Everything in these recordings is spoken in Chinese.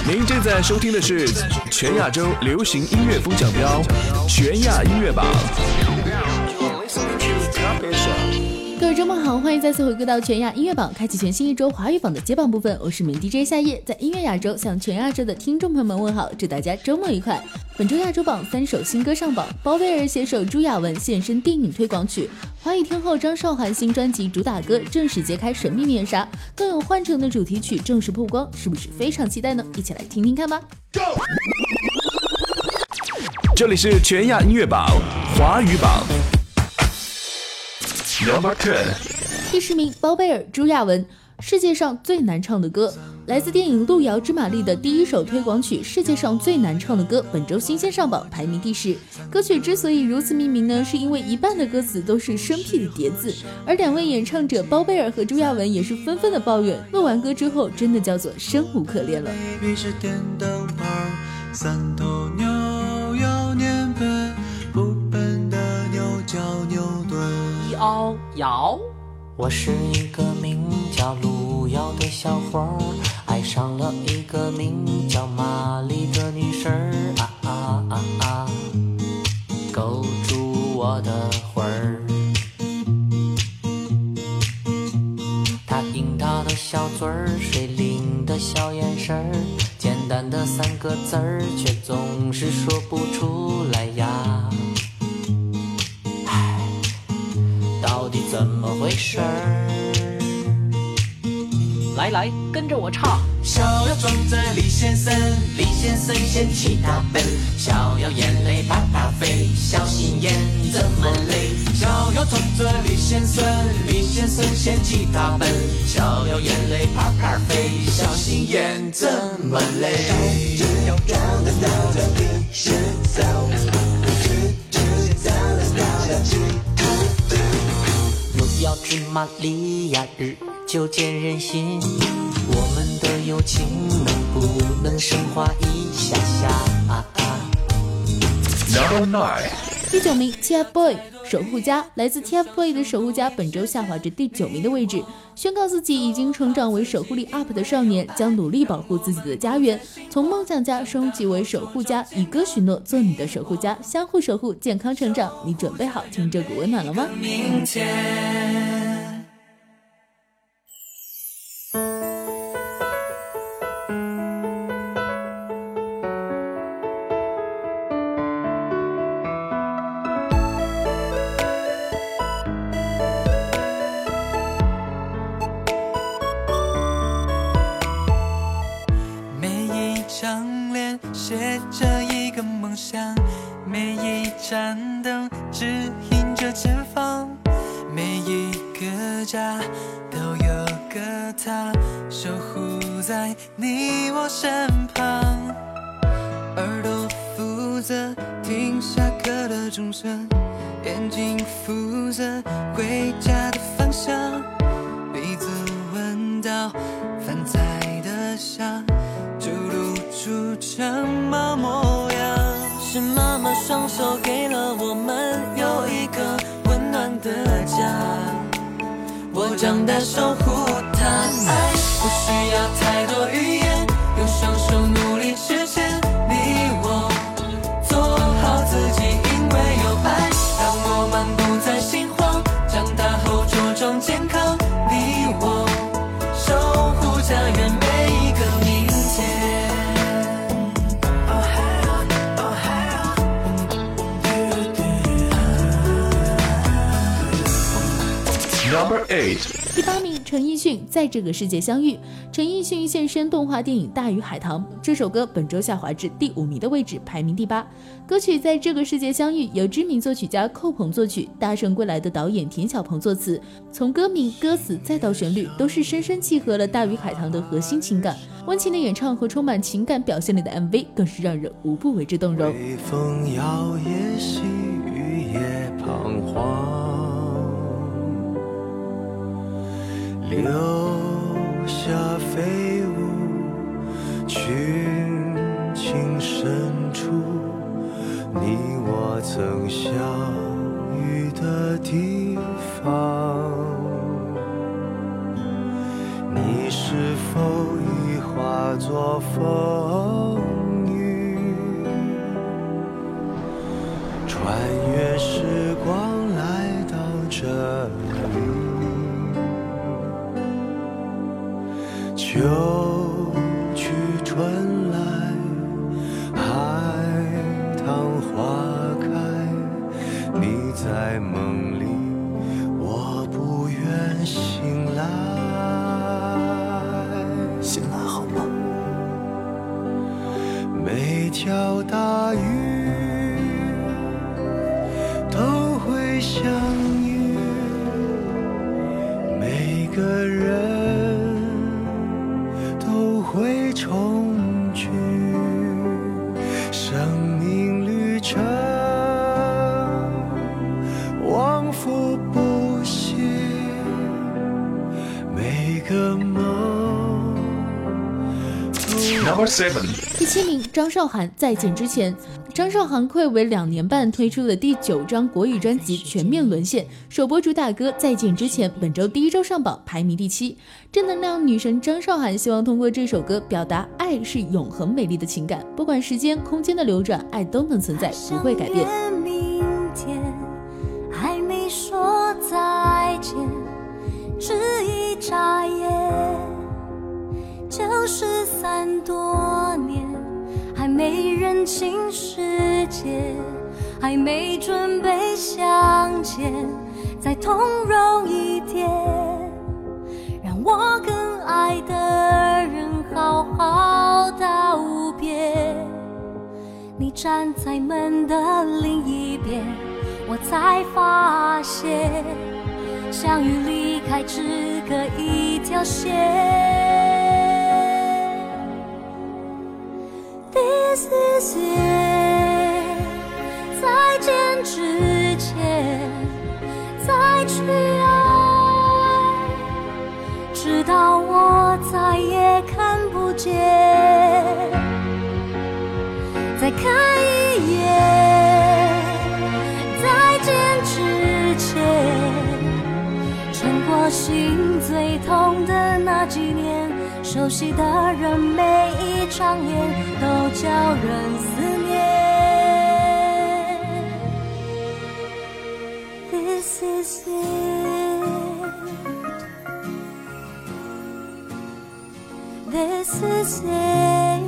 您正在收听的是全亚洲流行音乐风向标全亚音乐榜。 各位周末好，欢迎再次回归到全亚音乐榜，开启全新一周华语榜的接榜部分。我是名 DJ 夏夜，在音乐亚洲向全亚洲的听众朋友们问好，祝大家周末愉快。本周亚洲榜3首新歌上榜，包贝尔携手朱亚文现身电影推广曲，华语天后张韶涵新专辑主打歌正式揭开神秘面纱，更有换乘的主题曲正式曝光，是不是非常期待呢？一起来听听看吧。 这里是全亚音乐榜华语榜 Number 10， 第10名，包贝尔朱亚文，世界上最难唱的歌，来自电影《路遥知马力》的第1首推广曲《世界上最难唱的歌》，本周新鲜上榜，排名第10。歌曲之所以如此命名呢，是因为一半的歌词都是生僻的叠字，而2位演唱者包贝尔和朱亚文也是纷纷的抱怨，录完歌之后真的叫做生无可恋了。 是电灯泡，3头牛要年奔，不笨的牛叫牛顿。 摇摇， 我是一个名叫路遥的小伙儿，爱上了一个名叫玛丽的女生儿，勾住我的魂儿。她樱桃的小嘴儿，水灵的小眼神儿，简单的3个字儿，却总是说不出来呀。唉，到底怎么回事儿？ 来，跟着我唱。 小要撞在李先生，李先生嫌弃他笨，小要眼泪啪啪飞，小心眼这么累。小要撞着李先生，李先生嫌弃他笨，小要眼泪啪啪飞，小心眼这么累。 路遥知马力呀，日久见人心，我们的友情能不能升华一下下 Number 9， 第9名 TFBOY 守护家，来自 TFBOY 的守护家本周下滑至第9名的位置，宣告自己已经成长为守护力 UP 的少年，将努力保护自己的家园，从梦想家升级为守护家，以歌许诺做你的守护家，相互守护，健康成长。你准备好听这股温暖了吗？ 明天写着一个梦想，每一盏灯指引着前方，每一个家都有个他守护在你我身旁。耳朵负责听下课的钟声，眼睛负责回家的方向，鼻子闻到饭菜的香，就露出什么模样？是妈妈双手给了我们有一个温暖的家，我长大守护它。爱不需要太多语言，用双手努力实现。你我做好自己，因为有爱，让我们不再心慌，长大后茁壮健康。你我守护家园每一个明天。 Number 8， 第8名，陈奕迅在这个世界相遇。陈奕迅现身动画电影《大鱼海棠》，这首歌本周下滑至第5名的位置，排名第8。歌曲《在这个世界相遇》由知名作曲家寇鹏作曲，大圣归来的导演田小鹏作词，从歌名、歌词再到旋律，都是深深契合了《大鱼海棠》的核心情感。温情的演唱和充满情感表现力的 MV 更是让人无不为之动容。 微风摇曳，细雨也彷徨，留下飞舞群情深处，你我曾相遇的地方。你是否已化作风雨，穿越时光来到这里，秋去春来，海棠花开，你在梦里，我不愿醒来。 醒来好吗？ 每条大鱼都会相遇，每个人都会重聚，生命旅程往复不息，每个梦。 Number 7。 第7名，张韶涵《再见之前》。张韶涵暌违2年半推出的第9张国语专辑全面沦陷，首播主打歌《再见之前》本周第1周上榜，排名第7。正能量女神张韶涵希望通过这首歌表达爱是永恒美丽的情感，不管时间空间的流转，爱都能存在，不会改变。 明天还没说再见，只一眨眼就是3多年，还没认清世界，还没准备向前，再通融一点，让我更爱的人好好道别。你站在门的另一边，我才发现相遇离开只隔一条线。This is it， 再见之前再去爱，直到我再也看不见。再看一眼，再见之前，撑过心最痛的那几年，熟悉的人每一张脸都叫人思念。 This is it， This is it，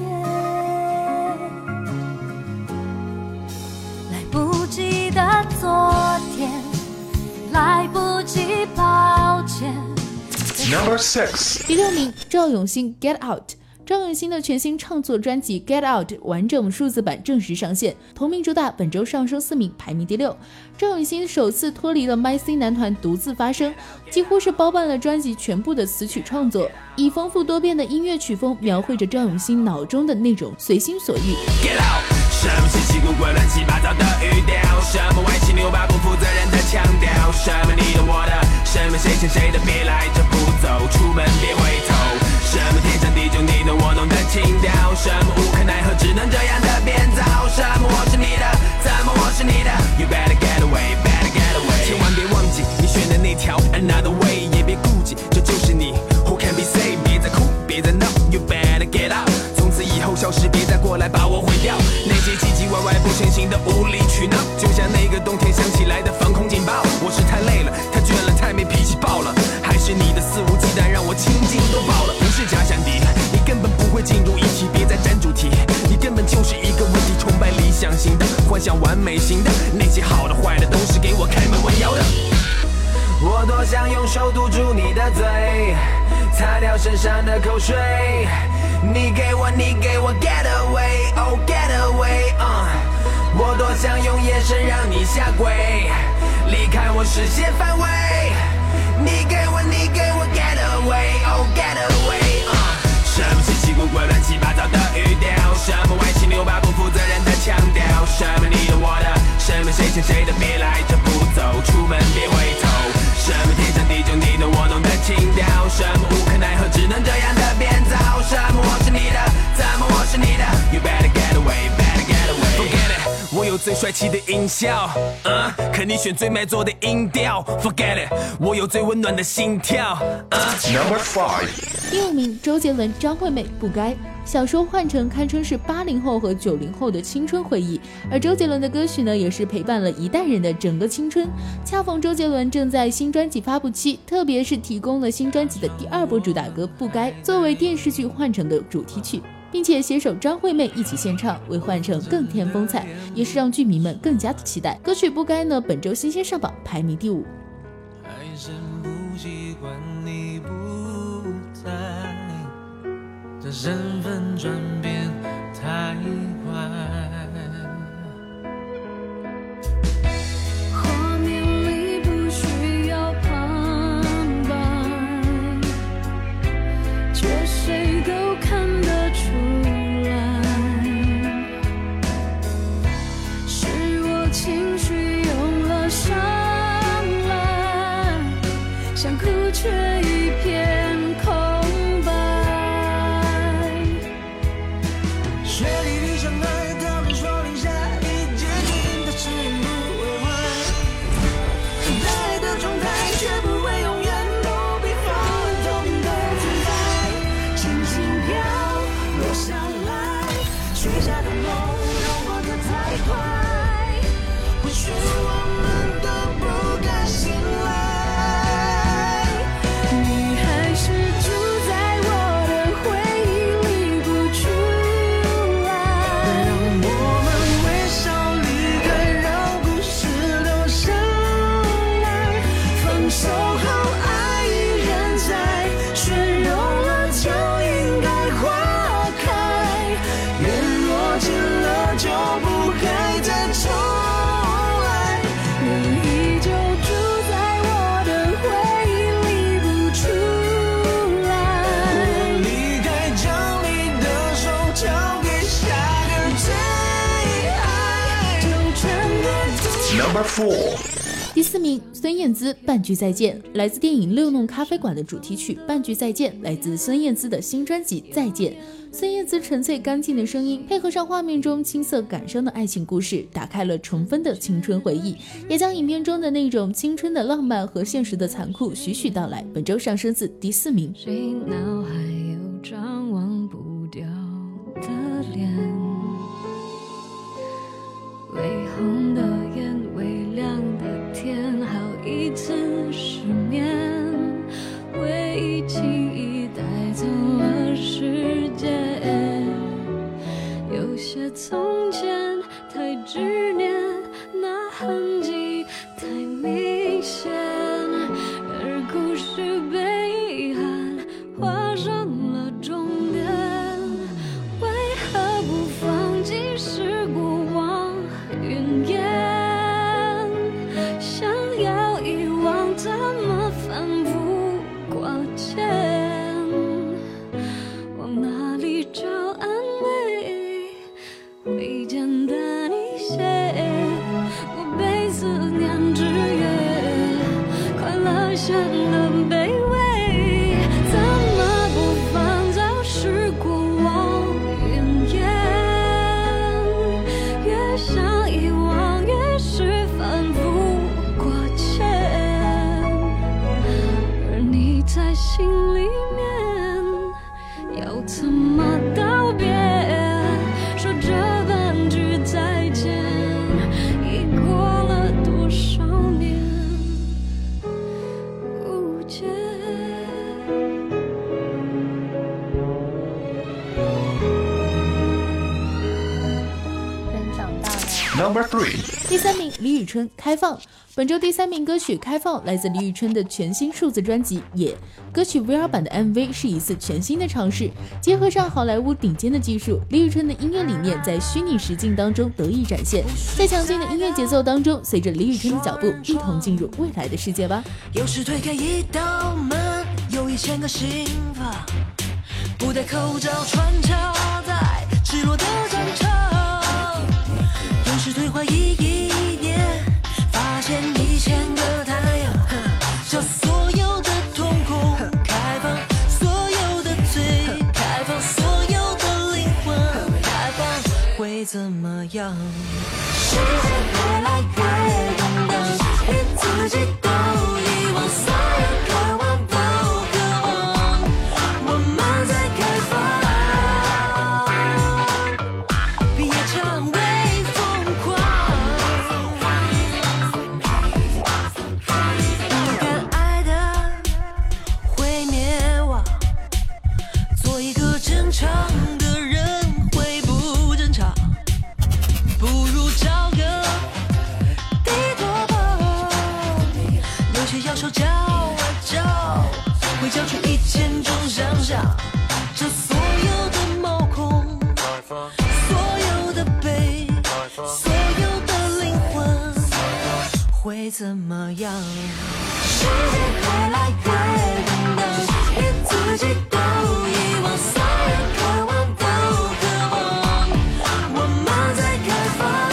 来不及的昨天，来不及抱歉。 Number 6。 第6名，赵咏欣 Get Out。赵咏欣的全新创作专辑 Get Out 完整数字版正式上线，同名主打本周上收4名，排名第6。赵咏欣首次脱离了 MyC 男团独自发声，几乎是包办了专辑全部的词曲创作，以丰富多变的音乐曲风描绘着赵咏欣脑中的那种随心所欲。 Get out， 什么稀奇古怪乱七八糟的语调，什么歪七扭八不负责任的腔调，什么你的我的，什么谁欠谁的别来这不走，出门别回头，什么天长地久你懂我懂的情调，什么无可奈何只能这样的变造，什么我是你的，怎么我是你的 You better get away, better get away， 千万别忘记你选的那条 Another way， 也别顾忌这就是你 Who can be saved， 别再哭别再闹 You better get out， 从此以后消失别再过来把我毁掉，那些唧唧歪歪不成形的无理取闹，就像那个冬天响起来的防空警报，我是太累了太倦了太没脾气爆了，还是你的肆无忌惮让我青筋都爆了，不是假想敌，你根本不会进入议题，别再占主题，你根本就是一个问题，崇拜理想型的，幻想完美型的，那些好的坏的都是给我开门问妖的。我多想用手堵住你的嘴，擦掉身上的口水，你给我 get away， oh get away， 我多想用眼神让你下跪，离开我视线范围，你给我 get away， oh get away， 什么稀奇古怪乱七八糟的语调，什么歪七扭八不负责任的腔调，什么你的我的，什么谁欠谁的别来这不走，出门别回头，什么天长地久你懂我懂的情调，什么无可奈何只能这样的变造，什么我是你的，怎么我是你的 You better get away, better get away Forget it， 我有最帅气的音效，可你选最卖座的音调 Forget it， 我有最温暖的心跳， Number 5。 第5名，周杰伦、张惠妹不该。 小说《幻城》堪称是80后和90后的青春回忆，而周杰伦的歌曲呢，也是陪伴了一代人的整个青春。恰逢周杰伦正在新专辑发布期，特别是提供了新专辑的第2波主打歌《不该》作为电视剧《幻城》的主题曲，并且携手张惠妹一起献唱，为《幻城》更添风采，也是让剧迷们更加的期待。歌曲《不该》呢，本周新鲜上榜，排名第5。 还是不习惯你不在，这身份转变太快。 画面里不需要旁白，却谁都看得出来，是我情绪用了上来，想哭却一片空白。 雪里的相爱，他们说留下一结局，但是也不会坏。爱的状态却不会永远不必放纵的存在，轻轻飘落下来，许下的梦如果它太快，或许我们都不该醒来。 你还是住在我的回忆里不出来， 让我们微笑离开，让故事留下来。 分手后爱依然在，雪融了就应该花开， 缘若尽了就不该再重来。 你依旧住在我的回忆里不出来。 我离开，将你的手交给下个最爱， 就全别 Number 4。 第4名，孙燕姿《半句再见》，来自电影《六弄咖啡馆》的主题曲《半句再见》，来自孙燕姿的新专辑《再见》。孙燕姿纯粹干净的声音，配合上画面中青涩感伤的爱情故事，打开了重温的青春回忆，也将影片中的那种青春的浪漫和现实的残酷徐徐道来。本周上升至第4名。 谁脑海有张忘不掉的脸，微红的眼，微亮的天，好一次失眠，回忆轻易带走了时间，有些从前太执念，那痕迹太明显，而故事被遗憾画上了终点，为何不放弃是过往云烟，想要遗忘怎么反复挂牵，往哪里找安慰，会简单一些，我被思念制约，快乐显得卑微，怎么不放早是过往云烟，越想遗忘越是反复挂牵，而你在心里面要怎么道别，说这半句再见已过了多少年无解。 人长大了。 Number 3。 第3名，李宇春《开放》。本周第3名歌曲《开放》来自李宇春的全新数字专辑《野》。歌曲 VR 版的 MV 是一次全新的尝试，结合上好莱坞顶尖的技术，李宇春的音乐理念在虚拟实境当中得以展现。在强劲的音乐节奏当中，随着李宇春的脚步，一同进入未来的世界吧。 有时推开一道门，有1000个心房，不戴口罩穿插在赤裸的战场，有时退回忆一年，发现1000个太阳，将所有的瞳孔开放，所有的嘴开放，所有的灵魂开放，会怎么样？世界越来越动荡，连自己都遗忘，所有渴望都渴望，我们在开放。 怎么样？ 时间越来越冰冷，连自己都遗忘，所有渴望都渴望，我们在开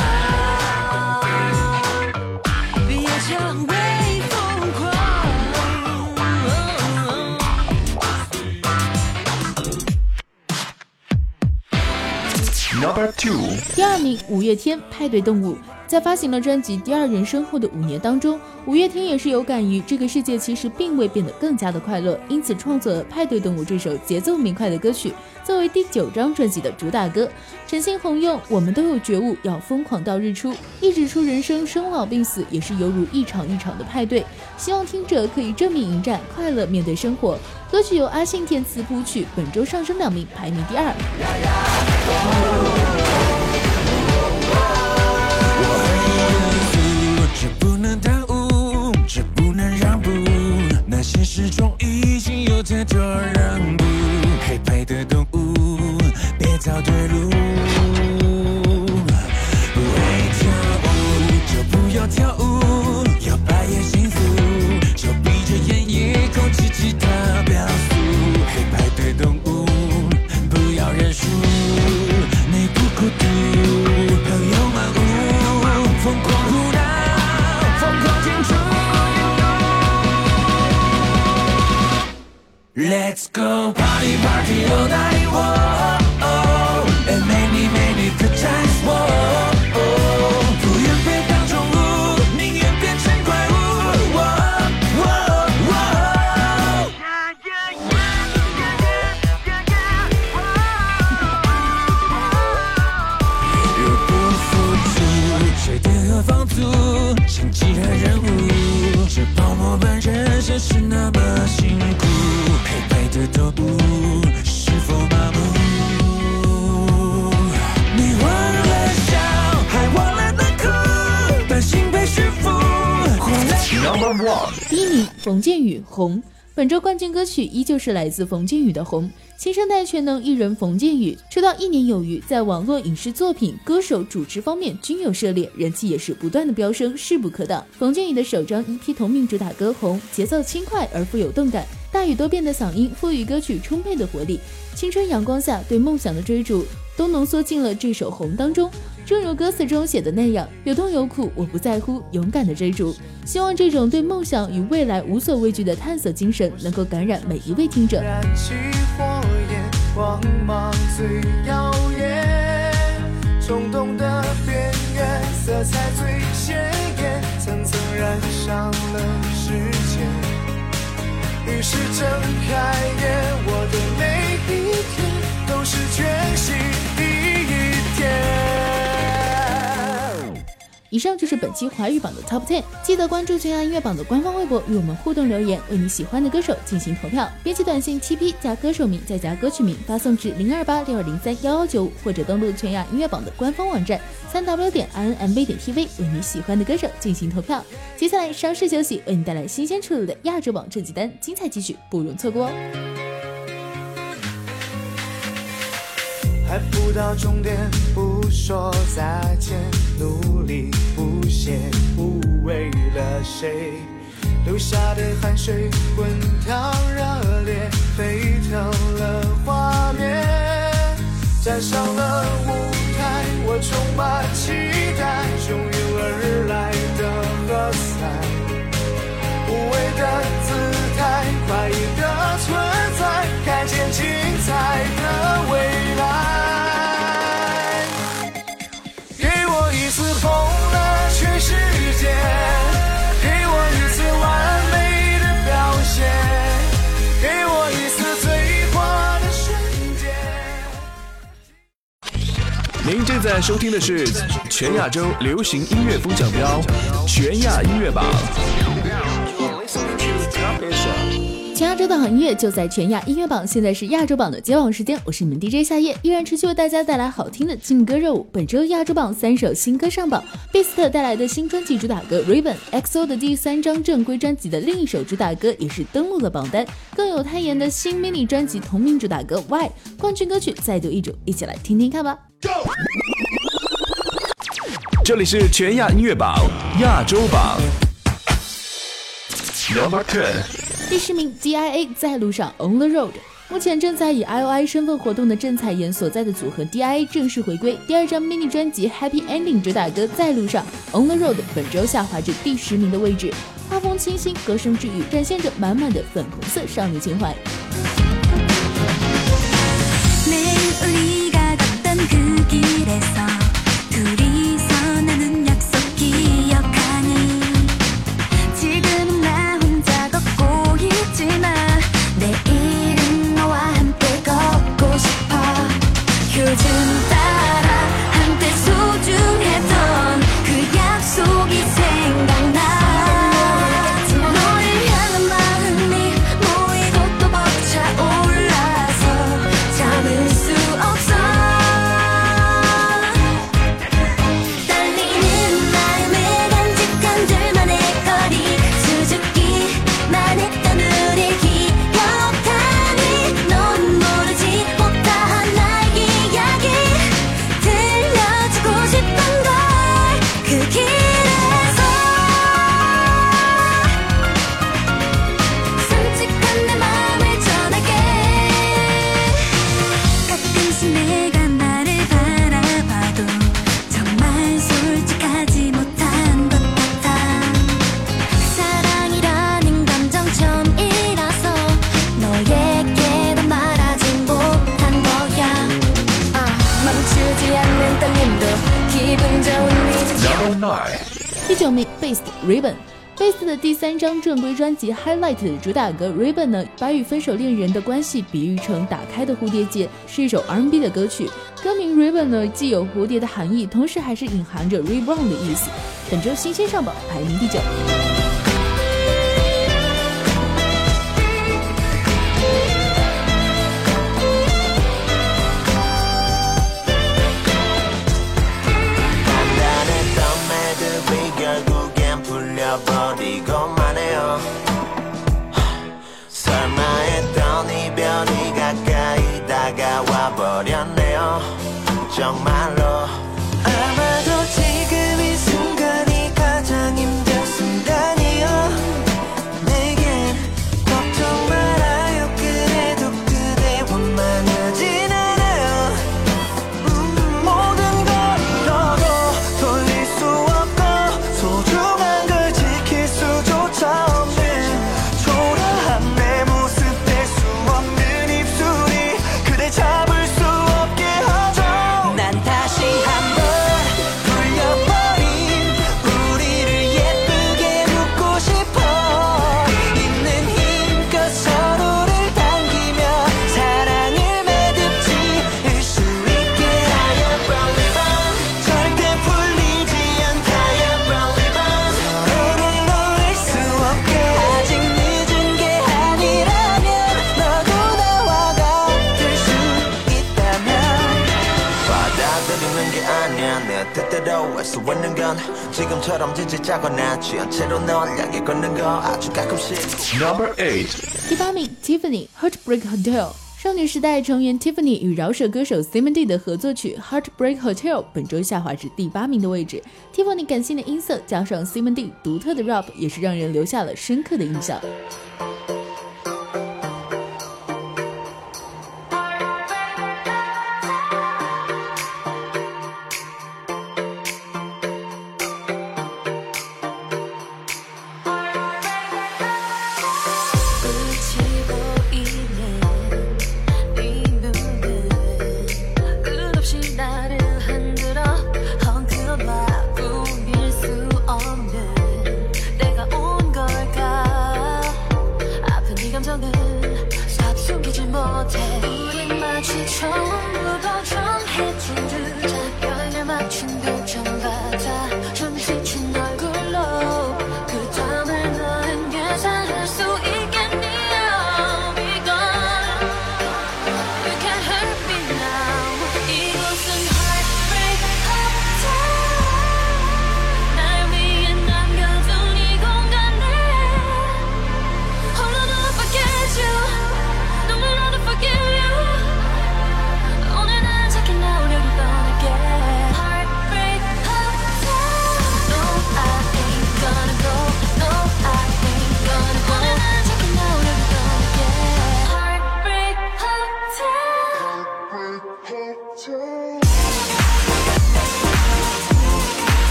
放，别讲为疯狂。 Number 2， 第2名，五月天《派对动物》。在发行了专辑《第二人生》后的5年当中，五月天也是有感于这个世界其实并未变得更加的快乐，因此创作了《派对动物》这首节奏明快的歌曲，作为第9张专辑的主打歌。陈星红用我们都有觉悟，要疯狂到日出，一指出人生生老病死也是犹如一场一场的派对，希望听者可以正面迎战，快乐面对生活。歌曲由阿信填词谱曲，本周上升2名，排名第2。 这不能耽误，这不能让步，那现实中已经有太多让步。黑白的动物，别找对路。不会跳舞就不要跳舞，要白也幸福，就闭着眼也控制其他表述。黑白的动物，不要认输，你不孤独，朋友满屋，疯狂胡闹。Let's go party party all night, whoa, oh, and many good times, whoa, oh, 不愿被当宠物，宁愿变成怪物， whoa, whoa, whoa. 若不付出，水电和房租，经济和任务，这泡沫般人生是那么辛苦。黑白的动物是否麻木？你忘了笑，还忘了难哭，担心被驯服。 Number 1， 第1名，冯建宇《红》。本周冠军歌曲依旧是来自冯建宇的《红》。新生代全能艺人冯建宇出道1年有余，在网络影视作品、歌手、主持方面均有涉猎，人气也是不断的飙升，势不可挡。冯建宇的首张 EP 同名主打歌《红》，节奏轻快而富有动感，大语多变的嗓音赋予歌曲充沛的活力。青春阳光下对梦想的追逐，都浓缩进了这首《红》当中。正如歌词中写的那样，有痛有苦我不在乎，勇敢的追逐。希望这种对梦想与未来无所畏惧的探索精神能够感染每一位听者。 燃起火焰，光芒最耀眼，冲动的边缘，色彩最鲜艳，层层染上了时间。于是睁开眼，我的每一天都是全新第一天。 以上就是本期华语榜的 Top 10， 记得关注全亚音乐榜的官方微博，与我们互动留言，为你喜欢的歌手进行投票。编辑短信7P 加歌手名再加歌曲名，发送至02862031195，或者登录全亚音乐榜的官方网站3w.inmv.tv， 为你喜欢的歌手进行投票。接下来稍事休息，为你带来新鲜出炉的亚洲榜这几单，精彩继续，不容错过哦。 还不到终点，不说再见，努力不懈，不为了谁，流下的汗水滚烫热烈，沸腾了画面，站上了舞台，我充满期待，汹涌而来的喝彩，无畏的姿态，快意的存在，看见精彩的未来。一次红了全世界，给我一次完美的表现，给我一次最花的瞬间。 您正在收听的是全亚洲流行音乐风向标全亚音乐榜。 全亚洲的好音乐就在全亚音乐榜，现在是亚洲榜的揭榜时间，我是你们 DJ 夏夜，依然持续为大家带来好听的劲歌热舞。本周亚洲榜3首新歌上榜 ，Beast 带来的新专辑主打歌 Ribbon，XO 的第3张正规专辑的另一首主打歌也是登陆了榜单，更有泰妍的新 mini 专辑同名主打歌 Why， 冠军歌曲再度易主，一起来听听看吧。 这里是全亚音乐榜亚洲榜。 Number 10， 第10名 DIA 在路上 On the Road。目前正在以 IOI 身份活动的郑彩妍所在的组合 DIA 正式回归，第2张 mini 专辑 Happy Ending 主打歌在路上 On the Road 本周下滑至第10名的位置。画风清新，歌声治愈，展现着满满的粉红色少女情怀。第9名 Beast Ribbon。Beast 的第3张正规专辑 Highlight 的主打歌 Ribbon 呢，把与分手恋人的关系比喻成打开的蝴蝶结，是一首 R&B 的歌曲。歌名 Ribbon 呢，既有蝴蝶的含义，同时还是隐含着 reborn 的意思。本周新鲜上榜，排名第9。 Number 8， 第8名 Tiffany Heartbreak Hotel。少女时代成员 Tiffany 与饶舌歌手 Simon的合作曲 Heartbreak Hotel 本周下滑至第8名的位置。Tiffany 感性的音色加上 Simon 独特的 rap， 也是让人留下了深刻的印象。 Heartbreak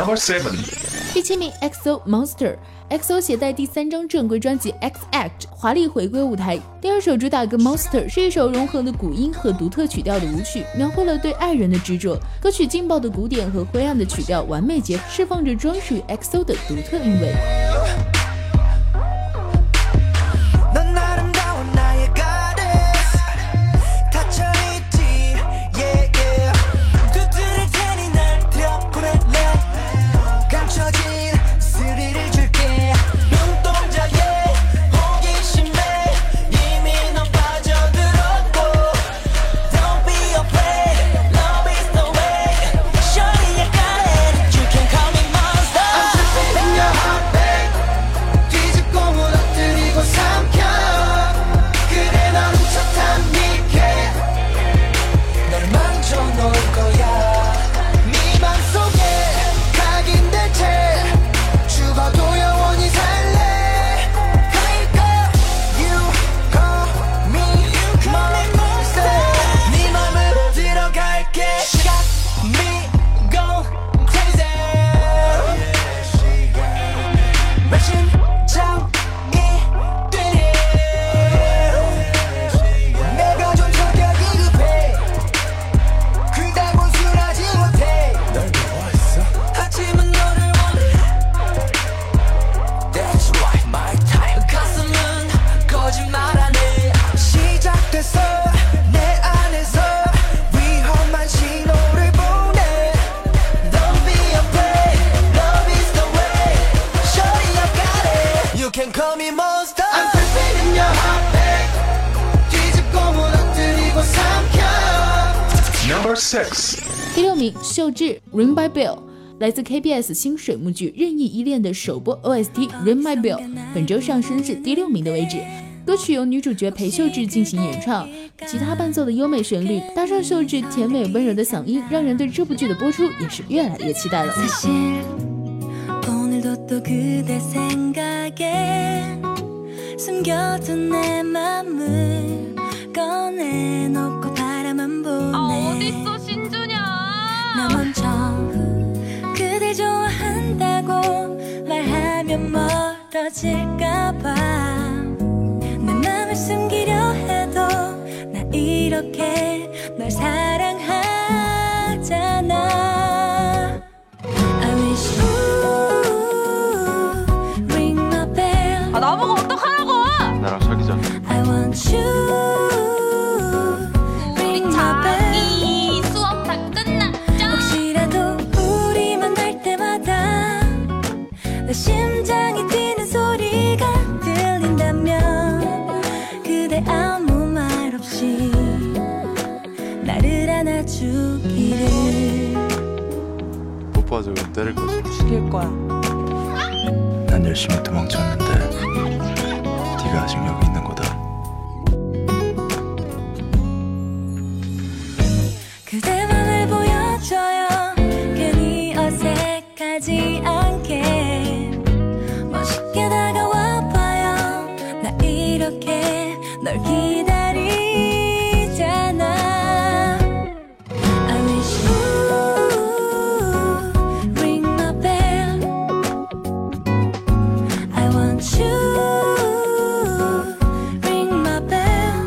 Number 7. 第7名 EXO Monster。EXO 携带第3张正规专辑 X Act 华丽回归舞台，第2首主打歌 Monster 是一首融合了古音和独特曲调的舞曲，描绘了对爱人的执着。歌曲劲爆的鼓点和灰暗的曲调完美结合，释放着专属于 EXO 的独特韵味。 Number 6. 第6名秀智 Ring My Bell， 来自 KBS 新水幕剧《任意依恋》的首播 OST Ring My Bell 本周上升至第6名的位置。歌曲由女主角裴秀智进行演唱，吉他伴奏的优美旋律搭上秀智甜美温柔的嗓音，让人对这部剧的播出也是越来越期待了。 어딨어 신주냐 나 먼저 그댈 좋아한다고 말하면 멀어질까봐 내 맘을 숨기려 해도 나 이렇게 널 사랑하잖아 I wish you ring my bell 아 나보고 어떡하라고 나랑 사귀자. I want you 내 심장이 뛰는 소리가 들린다면 그대 아무 말 없이 나를 안아주기를 뽀뽀하자고 때릴 거지. 죽일 거야. 난 열심히 도망쳤는데 네가 아직 여기 있는 거다. 그대 맘을 보여줘요 괜히 어색하지 않게 멋있게 다가와봐요 나 이렇게 널 기다리잖아 I wish you ring my bell I want you ring my bell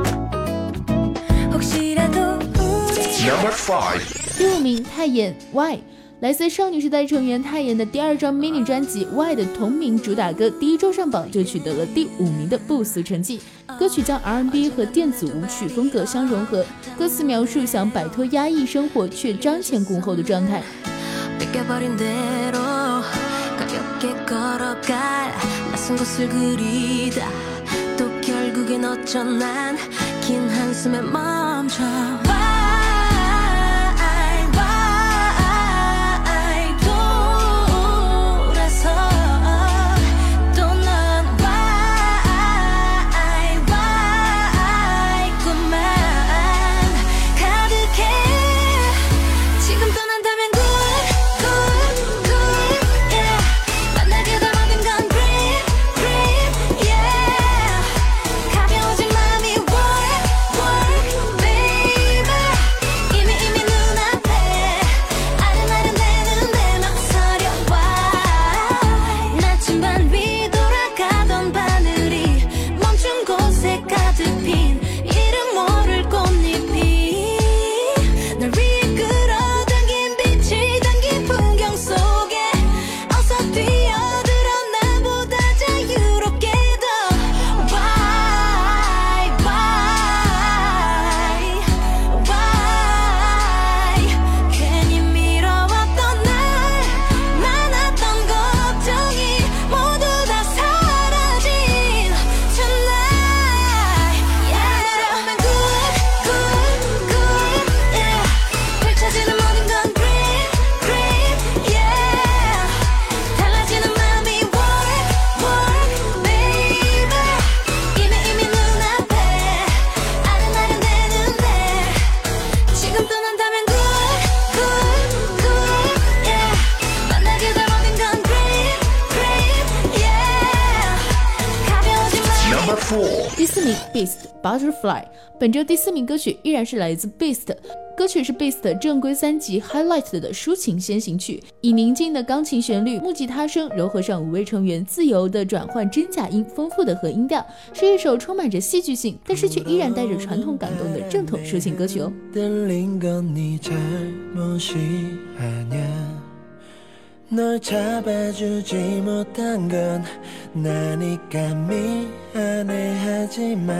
혹시라도 우리 Number 5. 第5名泰妍 Y， 来自少女时代成员泰妍的第2张 mini 专辑 Y 的同名主打歌，第1周上榜就取得了第5名的不俗成绩。歌曲将 R&B 和电子舞曲风格相融合，歌词描述想摆脱压抑生活却瞻前顾後的状态。 뺏겨버린 대로 가볍게 걸어갈 낯선 곳을 그리다 또 결국엔 어쩌난 긴 한숨에 멈춰 第4名 Beast Butterfly， 本周第4名歌曲依然是来自 Beast， 歌曲是 Beast 正规3辑 Highlight 的抒情先行曲，以宁静的钢琴旋律、木吉他声糅合上5位成员自由的转换真假音、丰富的和音调，是一首充满着戏剧性，但是却依然带着传统感动的正统抒情歌曲哦。 널 잡아주지 못한 건 나니까 미안해 하지마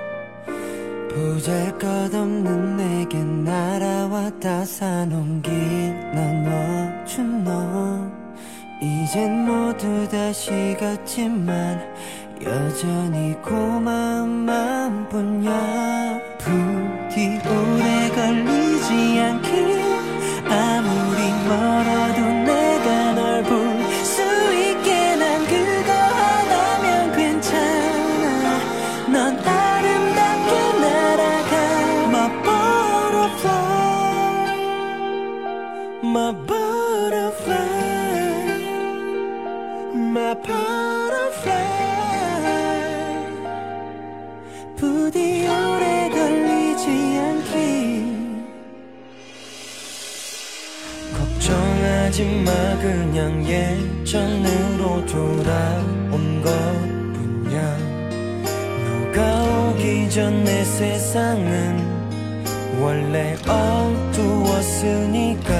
보잘것없는 내게 날아왔다 사놓긴 넌 멋진 너 이젠 모두 다시 갔지만 여전히 고마운 마음뿐이야 부디 오래 걸리지 않길 아무리 멀어도 내가 널 볼 수 있게 난 그거 하나면 괜찮아 넌 아름답게 날아가 My butterfly My butterfly My butterfly 부디 오래 걸리지 않길 걱정하지마 그냥 예전으로 돌아온 것뿐이야 너가 오기 전 내 세상은 원래 어두웠으니까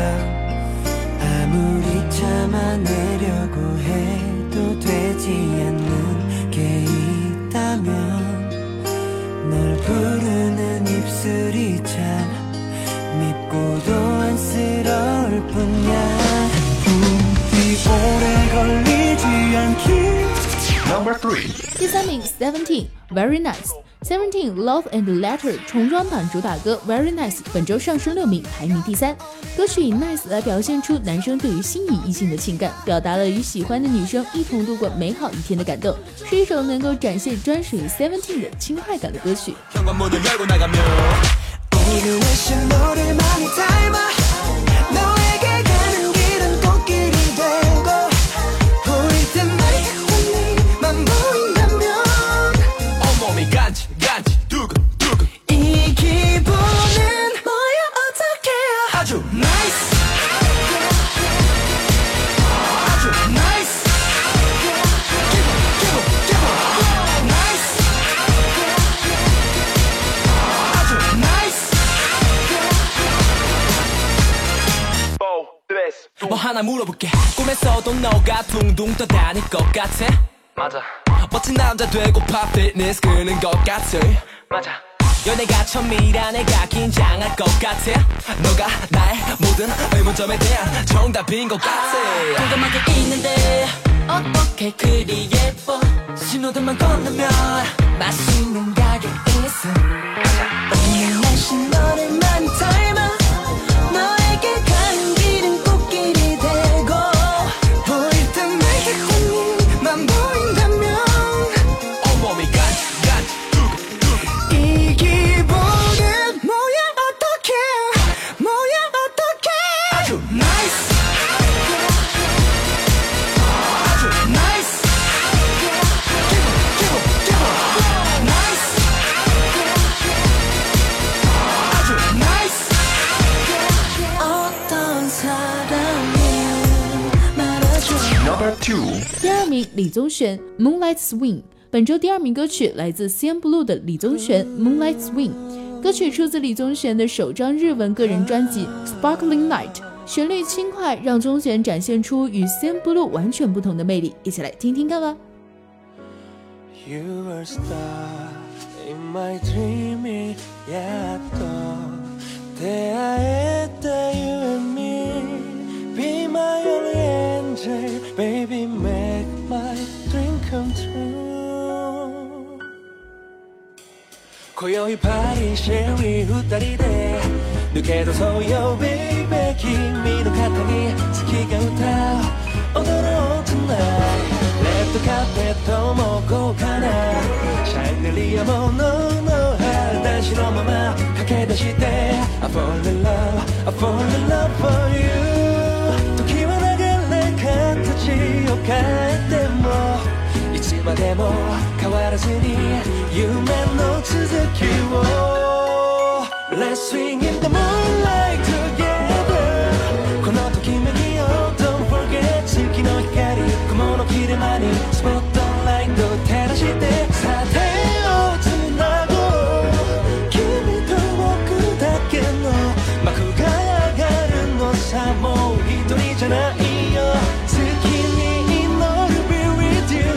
아무리 참아내려고 해도 되지 않는 게 있다면 널 부르는 입술이 참 밉고도 안쓰러울 뿐이야 부디 오래 걸리지 않길 Number 3 第3名 Seventeen Very Nice Seventeen Love and Letter 重装版主打歌 Very Nice 本周上升6名，排名第3。歌曲以 Nice 来表现出男生对于心仪异性的情感，表达了与喜欢的女生一同度过美好一天的感动，是一首能够展现专属于 Seventeen 的轻快感的歌曲。 오늘 날씨 너를 많이 닮아 너에게 가는 길은 꽃길이 되고 보일 때마다 네만 보인다면 온몸이 간지 두근두근 이 기분은 뭐야 어떡해 아주 nice 아주 nice 기분 nice 아주 nice 뭐 하나 물어볼게 꿈에서도 너가 둥둥 떠다닐 것 같아 맞아 멋진 남자 되고파 피트니스 끄는 것 같아 맞아 연애가 처음이라 내가 긴장할 것 같아 너가 나의 모든 의문점에 대한 정답인 것 같아 궁금하게 있는데 어떻게 그리 예뻐 신호등만 건너면 맛있는 가게 있어 오늘 날씨 너를 많이 닮아 너에게 가는 길은 꽃길이 되고 보일 때마다 네만 보인다면 온몸이 간지 두근두근 이 기분은 뭐야 어떡해 아주 nice 아주 nice 기분 nice 아주 nice 어떤 사람이 말아줘 Number 2 第2名李宗玄 Moonlight Swing 本周第2名歌曲来自 CNBLUE 的李宗玄 Moonlight Swing 歌曲出自李宗玄的首张日文个人专辑 Sparkling Night 旋律轻快让宗玄展现出与 CNBLUE 完全不同的魅力一起来听听看吧 You were a star in my dreaming 야또 대화했다 you and me Be my only angel Baby make my dream come true 고요히 파리 쉐리 후다리대 늦게도 소요 baby君の肩に月が歌う踊ろう tonight レッドカーペットも豪華なシャンデリアものの裸足のまま駆け出して I fall in love I fall in love for you 時は流れ形を変えてもいつまででも変わらずに夢の続きを Let's swing in the moonlight together このときめきを Don't forget 月の光雲の切れ間にスポットライト照らしてさあ手をつなごう君と僕だけの幕が上がるのさもう一人じゃないよ月に祈る Be with you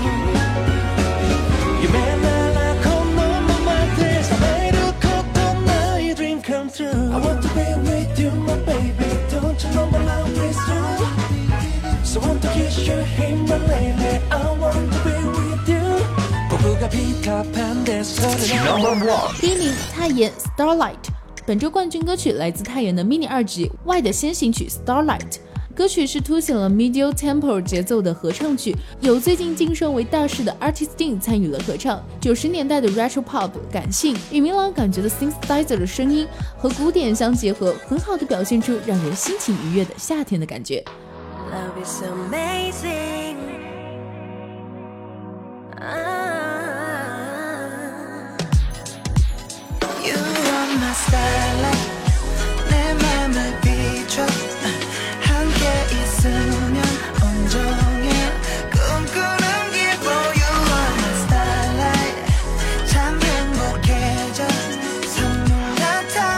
夢ならこのままで覚めることない Dream come true I want to be with you my baby Don't you know my love is true So want to kiss your hand my lady I want to be with you 僕がピーターパンでそれの第一名泰妍 Starlight， 本周冠军歌曲来自泰妍的 mini 2辑 Y 的先行曲 Starlight， 歌曲是凸显了 medium tempo 节奏的合唱曲，有最近晋升为大师的 Artist Dean 参与了合唱。90年代的 retro pop 感性与明朗感觉的 synthesizer 的声音和鼓点相结合，很好的表现出让人心情愉悦的夏天的感觉。 Love is amazing. You are my starlight 내 맘을 비춰 함께 있으면 온종일 꿈꾸는 기분 You are my starlight 참 행복해져 선물 같아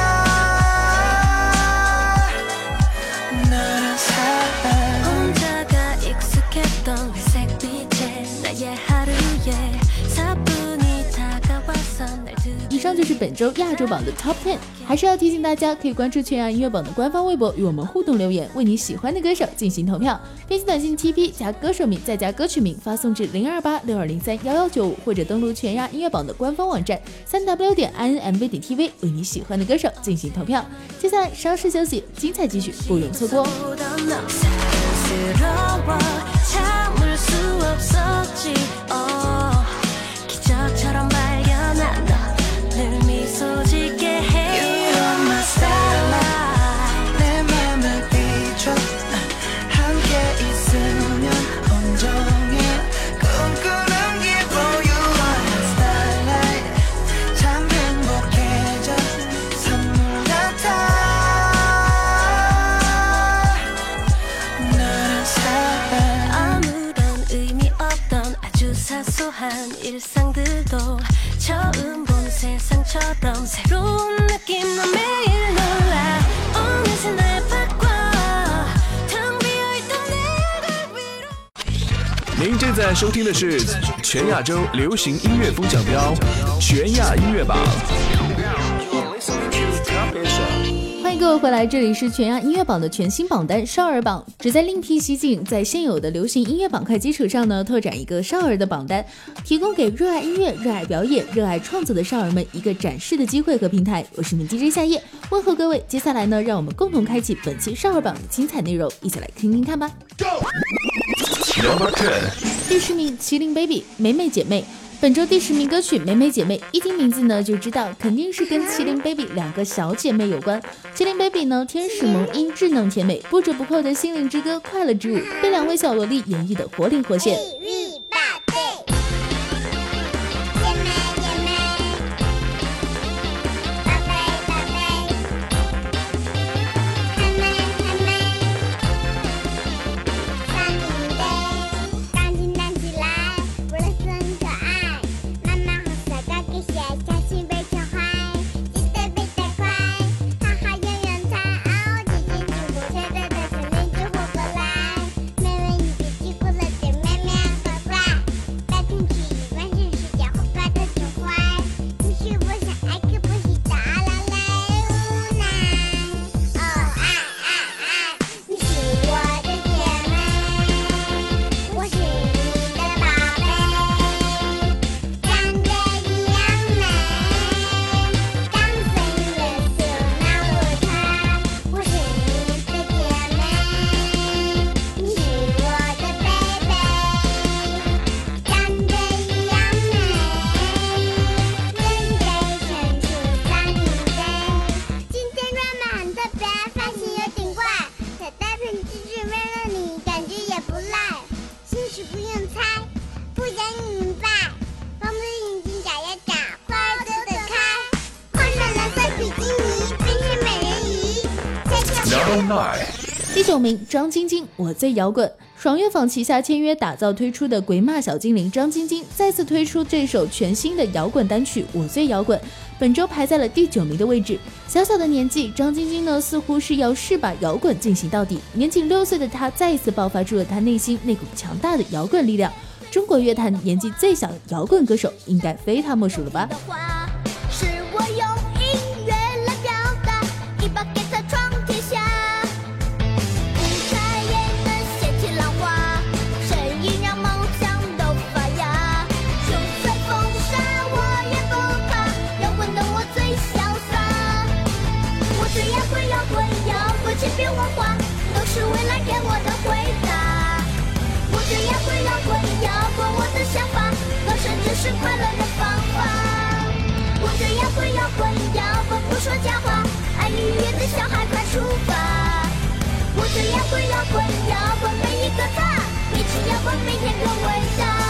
너란 사람 혼자가 익숙했던 회색 빛에 나의 하루에 사뿐히 다가와서 날 以上就是本周亚洲榜的 Top 10， 还是要提醒大家可以关注全亚音乐榜的官方微博与我们互动留言，为你喜欢的歌手进行投票，编辑短信 TP 加歌手名再加歌曲名发送至02862031195，或者登录全亚音乐榜的官方网站3w.inmv.tv 为你喜欢的歌手进行投票。接下来稍事休息，精彩继续，不容错过。 사랑스러워 참을 수 없었지 기적처럼 발견한 너늘 미소 짓게 해 You are my starlight 내 맘을 비춰 함께 있으면 온종일 꿈꾸는 기분 You are my starlight 참 행복해져 선물 같아 너란 사람 아무런 의미 없던 아주 사소한 일상들도 처음 본 세상처럼 새로운 느낌으로 매일 놀라 어느새 날 바꿔 텅 비어있던 내 위로 您正在收听的是全亚洲流行音乐风向标全亚音乐榜。 欢迎各位回来，这里是全亚音乐榜的全新榜单少儿榜，旨在另辟蹊径，在现有的流行音乐板块基础上呢，拓展一个少儿的榜单，提供给热爱音乐、热爱表演、热爱创作的少儿们一个展示的机会和平台。我是你们 DJ 夏夜，问候各位。接下来呢，让我们共同开启本期少儿榜的精彩内容，一起来听听看吧。第10名，麒麟 baby 美美姐妹。本周第10名歌曲《美美姐妹》，一听名字呢就知道肯定是跟麒麟 baby 两个小姐妹有关。麒麟 baby 呢，天使萌音，稚嫩甜美，不折不扣的心灵之歌，快乐之舞，被两位小萝莉演绎的活灵活现。 Number 9。 第9名，张晶晶，我最摇滚。爽乐坊旗下签约打造推出的鬼马小精灵张晶晶再次推出这首全新的摇滚单曲《我最摇滚》，本周排在了第9名的位置。小小的年纪，张晶晶呢似乎是要试把摇滚进行到底。年仅6岁的她再一次爆发出了她内心那股强大的摇滚力量。中国乐坛年纪最小的摇滚歌手，应该非他莫属了吧？ 是我用音乐来表达，一把给他闯天下。千变万化都是未来给我的回答。我这样会摇滚，摇滚我的想法，歌声就是快乐的方法。我这样会摇滚，摇滚不说假话，爱愉悦的小孩快出发。我这样会摇滚，摇滚每一个他，一起摇滚每天更伟大。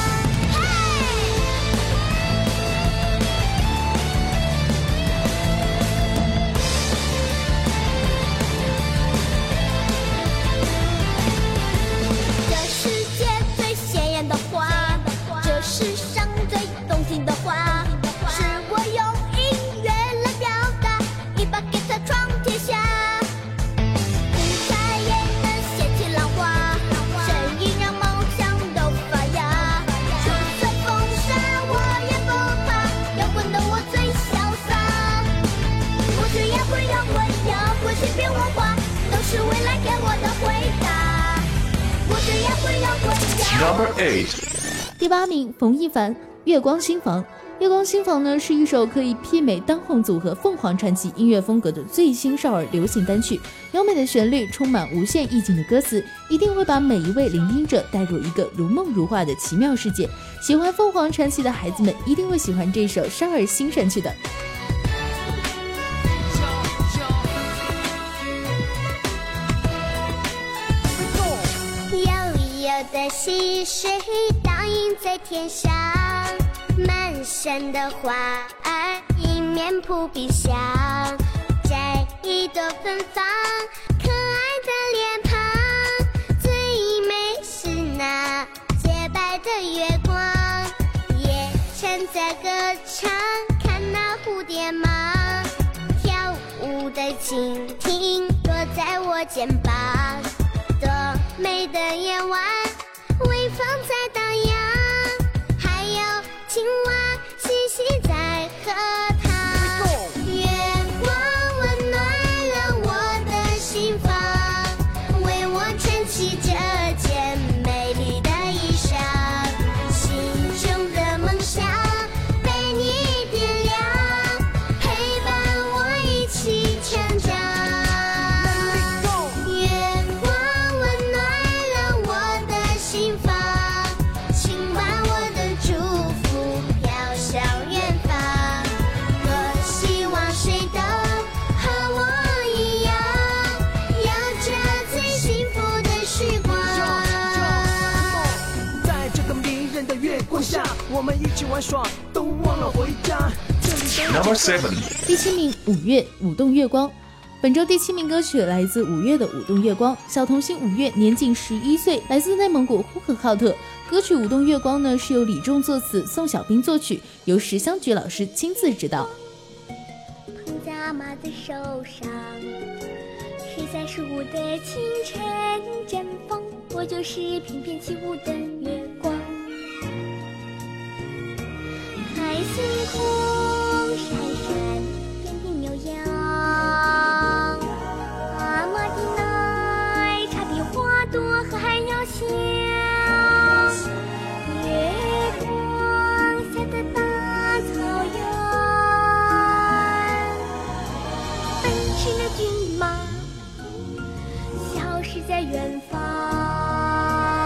世上最动听的话，是我用音乐来表达，一把给他闯天下。舞台也能掀起浪花，声音让梦想都发芽。就算风沙我也不怕，摇滚的我最潇洒。我这样会摇滚，摇滚千变万化，都是未来给我的回答。我这样会摇滚，摇滚。 Number 8。 第8名，冯一凡，月光新房。月光新房呢是一首可以媲美当红组合凤凰传奇音乐风格的最新少儿流行单曲，优美的旋律，充满无限意境的歌词，一定会把每一位聆听者带入一个如梦如画的奇妙世界。喜欢凤凰传奇的孩子们一定会喜欢这首少儿新神曲的。 的溪水倒映在天上，满山的花儿迎面扑鼻香，摘一朵芬芳，可爱的脸庞，最美是那洁白的月光，夜晨在歌唱，看那蝴蝶忙，跳舞的蜻蜓落在我肩膀，多美的夜晚，微风在荡漾，还有青蛙嬉戏在荷塘。月光温暖了我的心房，为我撑起这件美丽的衣裳，心中的梦想被你点亮，陪伴我一起成长。 我们一起玩耍，都忘了回家。 Number 7。 第7名，五月舞动月光。本周第7名歌曲来自五月的舞动月光。小童星五月年仅11岁，来自内蒙古呼和浩特。歌曲舞动月光呢是由李仲作词，宋小兵作曲，由石香菊老师亲自指导。 捧在阿妈的手上，谁在树的清晨绽放，我就是翩翩起舞的月光。海星空闪闪，点点牛羊，阿妈的奶茶比花朵还要香。月光下的大草原，奔驰的骏马消失在远方。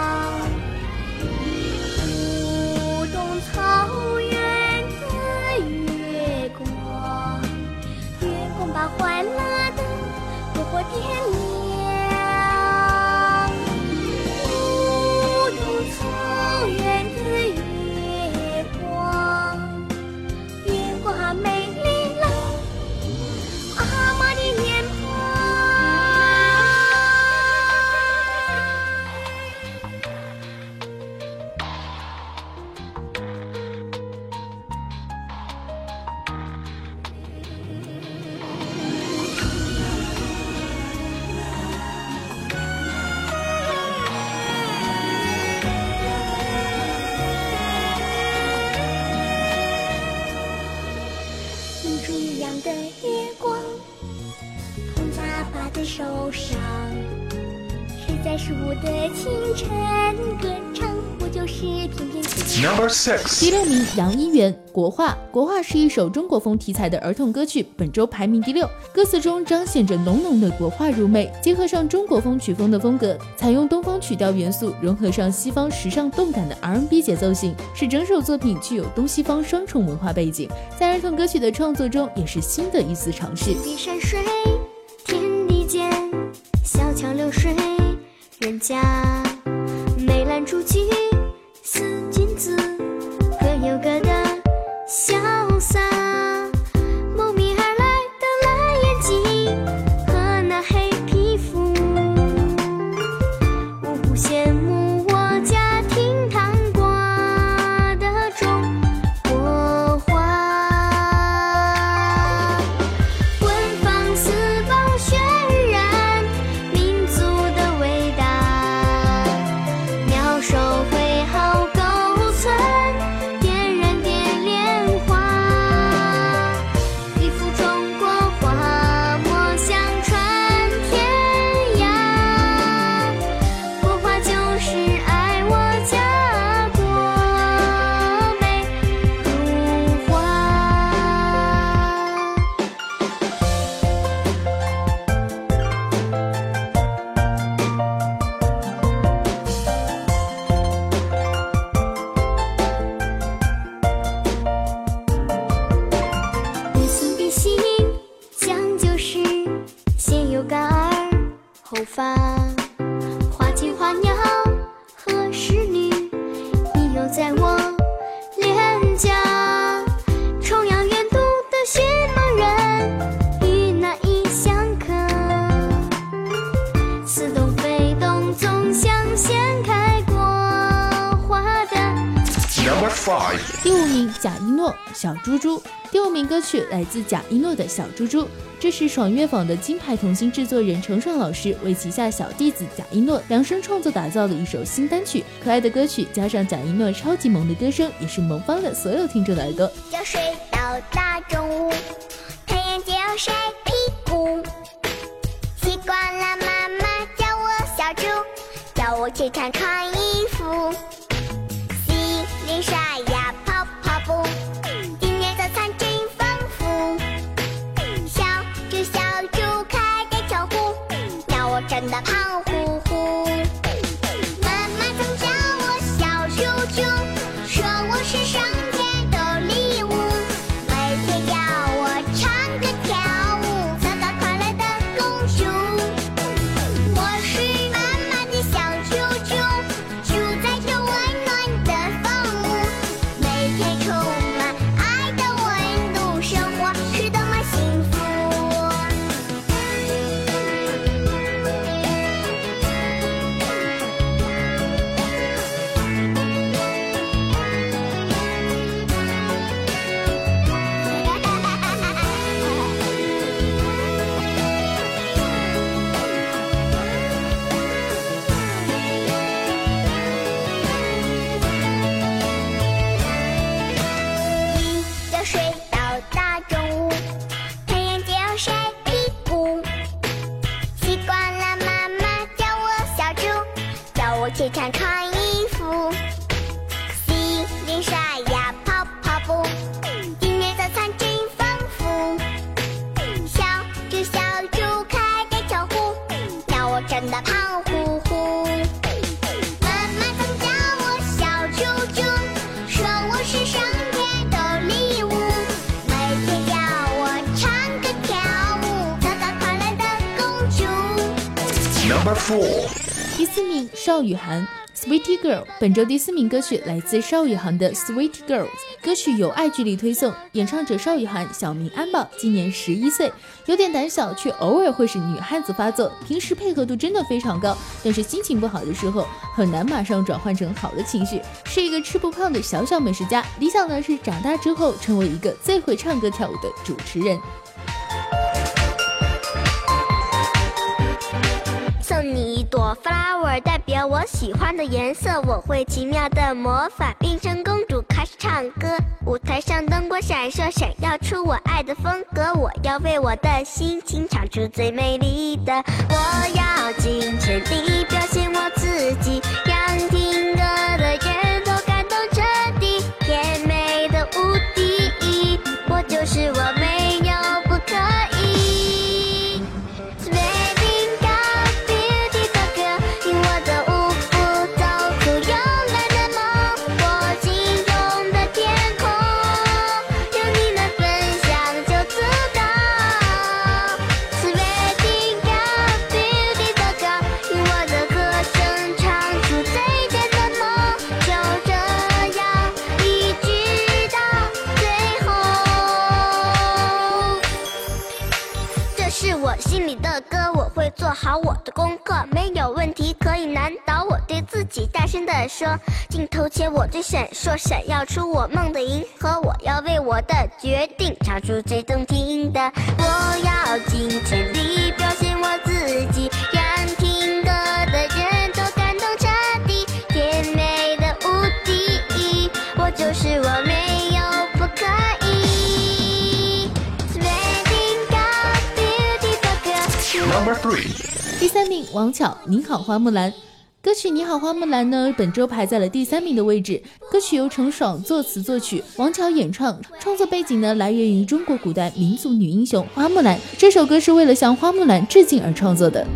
舞动草原的手上。谁在树的清晨歌唱，我就是翩翩起舞。 Number 6. 第6名，杨一元，国画。国画是一首中国风题材的儿童歌曲，本周排名第6。歌词中彰显着浓浓的国画入味，结合上中国风曲风的风格，采用东方曲调元素，融合上西方时尚动感的 R&B 节奏型，使整首作品具有东西方双重文化背景，在儿童歌曲的创作中也是新的一丝尝试。 天地山水，天地间，小桥流水，人家梅兰竹菊，似君子，各有各的潇洒。慕名而来的蓝眼睛和那黑皮肤，无不羡慕我家厅堂挂的中国画。文房四宝渲染民族的伟大，妙手挥毫勾存，点燃点莲花，一幅中国画墨相传天涯。国画就是爱我家国美如画。别送别行，讲究是先有感儿后发。花间花鸟和仕女，你有在我脸颊。重阳远渡的寻梦人，与那一相客。似东非东，总想掀开国画的。 Number 5. 第5名，贾一诺，小猪猪。第5名歌曲来自贾一诺的《小猪猪》，这是爽乐坊的金牌童星制作人程爽老师为旗下小弟子贾一诺量身创作打造的一首新单曲。可爱的歌曲加上贾一诺超级萌的歌声，也是萌翻了所有听众的耳朵。 要睡到大中午，太阳就要晒屁股。习惯了妈妈叫我小猪，叫我去穿衣服。洗脸刷牙跑跑步，今年早餐真丰富。小猪小猪开开窗户，让我真的胖乎乎。妈妈总叫我小猪猪，说我是上天的礼物，每天要我唱歌跳舞，做个快乐的公主。我是妈妈的小猪猪，住在这温暖的房屋，每天充满爱的温度，生活是多么幸福。一觉睡到大中午，太阳就要晒屁股。习惯了妈妈叫我小猪，叫我去穿衣服。洗脸刷牙跑跑步，今年早餐真丰富。小猪小猪开开窗户，让我真的胖乎乎。妈妈总叫我小猪猪，说我是上天的礼物，每天要我唱歌跳舞，做个快乐的公主。 Number 4. 第4名，邵雨涵 Sweetie Girl。 本周第4名歌曲来自邵雨涵的 Sweetie Girls， 歌曲由爱距离推送，演唱者邵雨涵小名安宝，今年11岁，有点胆小，却偶尔会使女汉子发作，平时配合度真的非常高，但是心情不好的时候很难马上转换成好的情绪，是一个吃不胖的小美食家，理想呢是长大之后成为一个最会唱歌跳舞的主持人。 送你一朵我 flower 代表我喜欢的颜色，我会奇妙的魔法，变成公主开始唱歌。舞台上灯光闪烁，闪耀出我爱的风格。我要为我的心情唱出最美丽的，我要尽全力表现我自己，让听歌的人都感动彻底，甜美的无敌，我就是我，没有不可以。心里的歌，我会做好我的功课，没有问题可以难倒我，对自己大声地说，镜头前我最闪烁，闪耀出我梦的银河。我要为我的决定唱出最动听的，我要尽全力表现我自己，让听歌的人都感动彻底，甜美的无敌，我就是我，没有不可以。 Number 3， 第3名，王巧，你好花木兰。歌曲《你好花木兰》呢，本周排在了第3名的位置。歌曲由程爽作词作曲，王巧演唱。创作背景呢，来源于中国古代民族女英雄花木兰。这首歌是为了向花木兰致敬而创作的。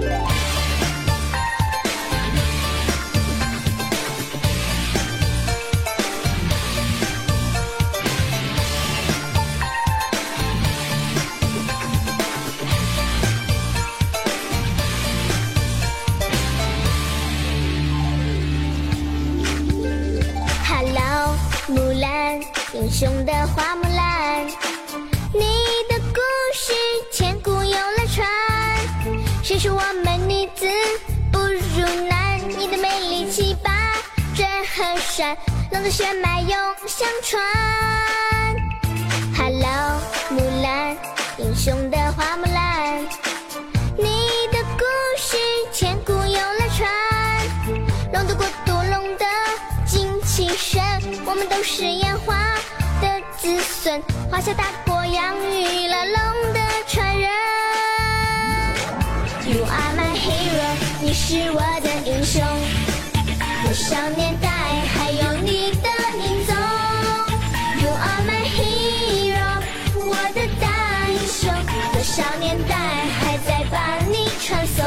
木兰，英雄的花木兰，你的故事千古永流传。谁说我们女子不如男？你的美丽气拔震撼山，浪的血脉永相传。Hello， 木兰，英雄的花木兰，你的故事千古永流传。龙的国度，龙的精气神，我们都是炎华的子孙，华夏大国养育了龙的传人。You are my hero， 你是我的英雄，多少年代还有你的影踪。You are my hero， 我的大英雄，多少年代还在把你传颂。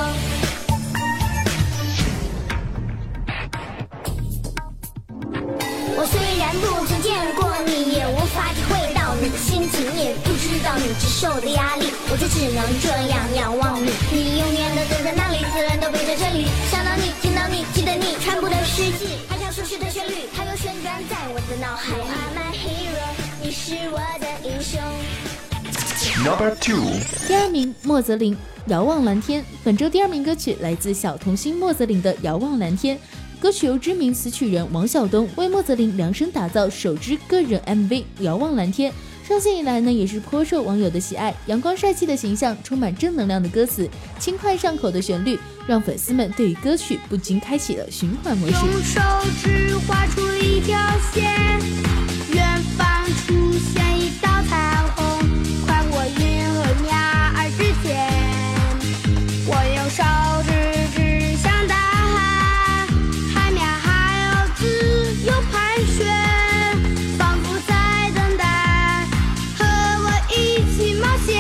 我虽然不曾见过你，也无法体会到你的心情，也不知道你承受的压力，我就只能这样仰望你。你永远的走在那里，自然都背在这里。想到你，听到你，记得你，传播的世纪，还像熟悉的旋律，它又旋转在我的脑海。You are my hero， 你是我的英雄。 Number 2， 第2名，莫泽林，遥望蓝天。本周第2名歌曲来自小童星莫泽林的《遥望蓝天》。歌曲由知名词曲人王晓东为莫泽林量身打造首支个人 MV《遥望蓝天》，上线以来呢，也是颇受网友的喜爱。阳光帅气的形象，充满正能量的歌词，轻快上口的旋律，让粉丝们对于歌曲不禁开启了循环模式。 用手指画出一条线，远方出现一道彩虹，宽过云和鸟儿之间。我用手指指向大海，海面还有自由盘旋，仿佛在等待和我一起冒险。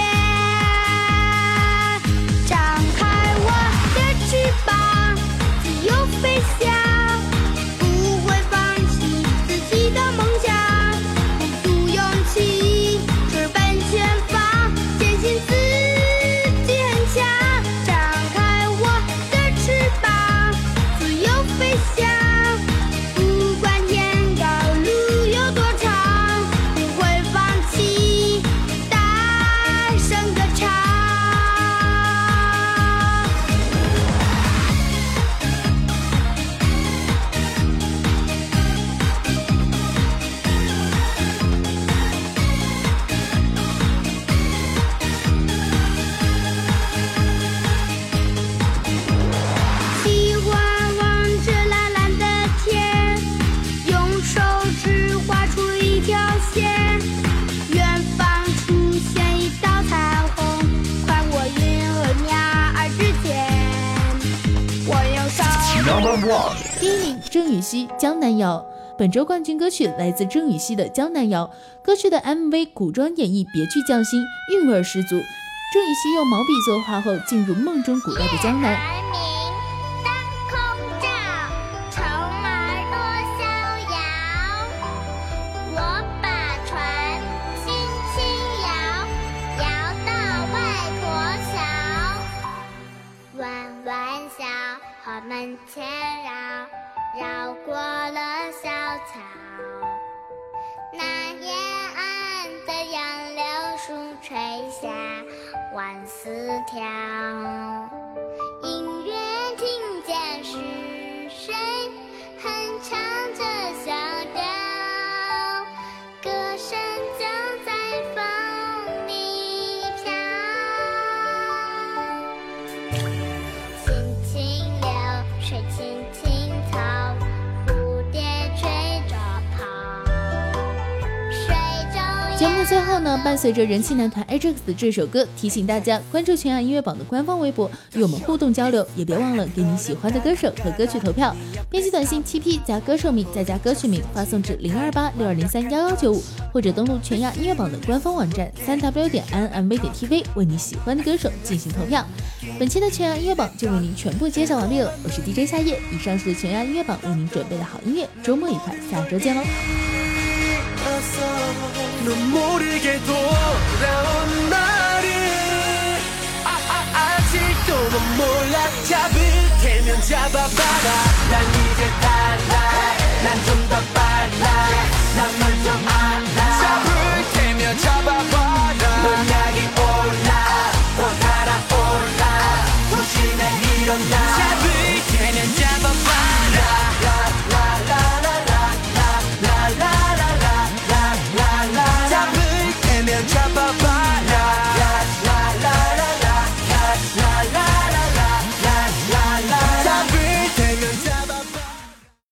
张开我的翅膀，自由飞翔，不会放弃自己的梦想，鼓足勇气郑禹锡《江南谣》。本周冠军歌曲来自郑禹锡的《江南谣》，歌曲的 MV 古装演绎别具匠心，韵味十足。郑禹锡用毛笔作画后，进入梦中古代的江南。 门前绕过了小草，那沿岸的杨柳树垂下万丝条，隐约听见是谁哼唱着小调，歌声就在风里飘。水青青草，蝴蝶吹着跑。 节目的最后呢，伴随着人气男团 Ajax 的这首歌，提醒大家关注全亚音乐榜的官方微博，与我们互动交流，也别忘了给你喜欢的歌手和歌曲投票。编辑短信 TP 加歌手名再加歌曲名，发送至02862031195，或者登录全亚音乐榜的官方网站3w.inmv.tv， 为你喜欢的歌手进行投票。本期的全亚音乐榜就为您全部介绍完毕了，我是 DJ 夏夜，以上是全亚音乐榜为您准备的好音乐，周末愉快，下周见喽。 눈물이게 돌아온 날이 아직도 넌 몰라 잡을 테면 잡아봐라 난 이제 달라 난 좀 더 빨라 난 널 좀 알아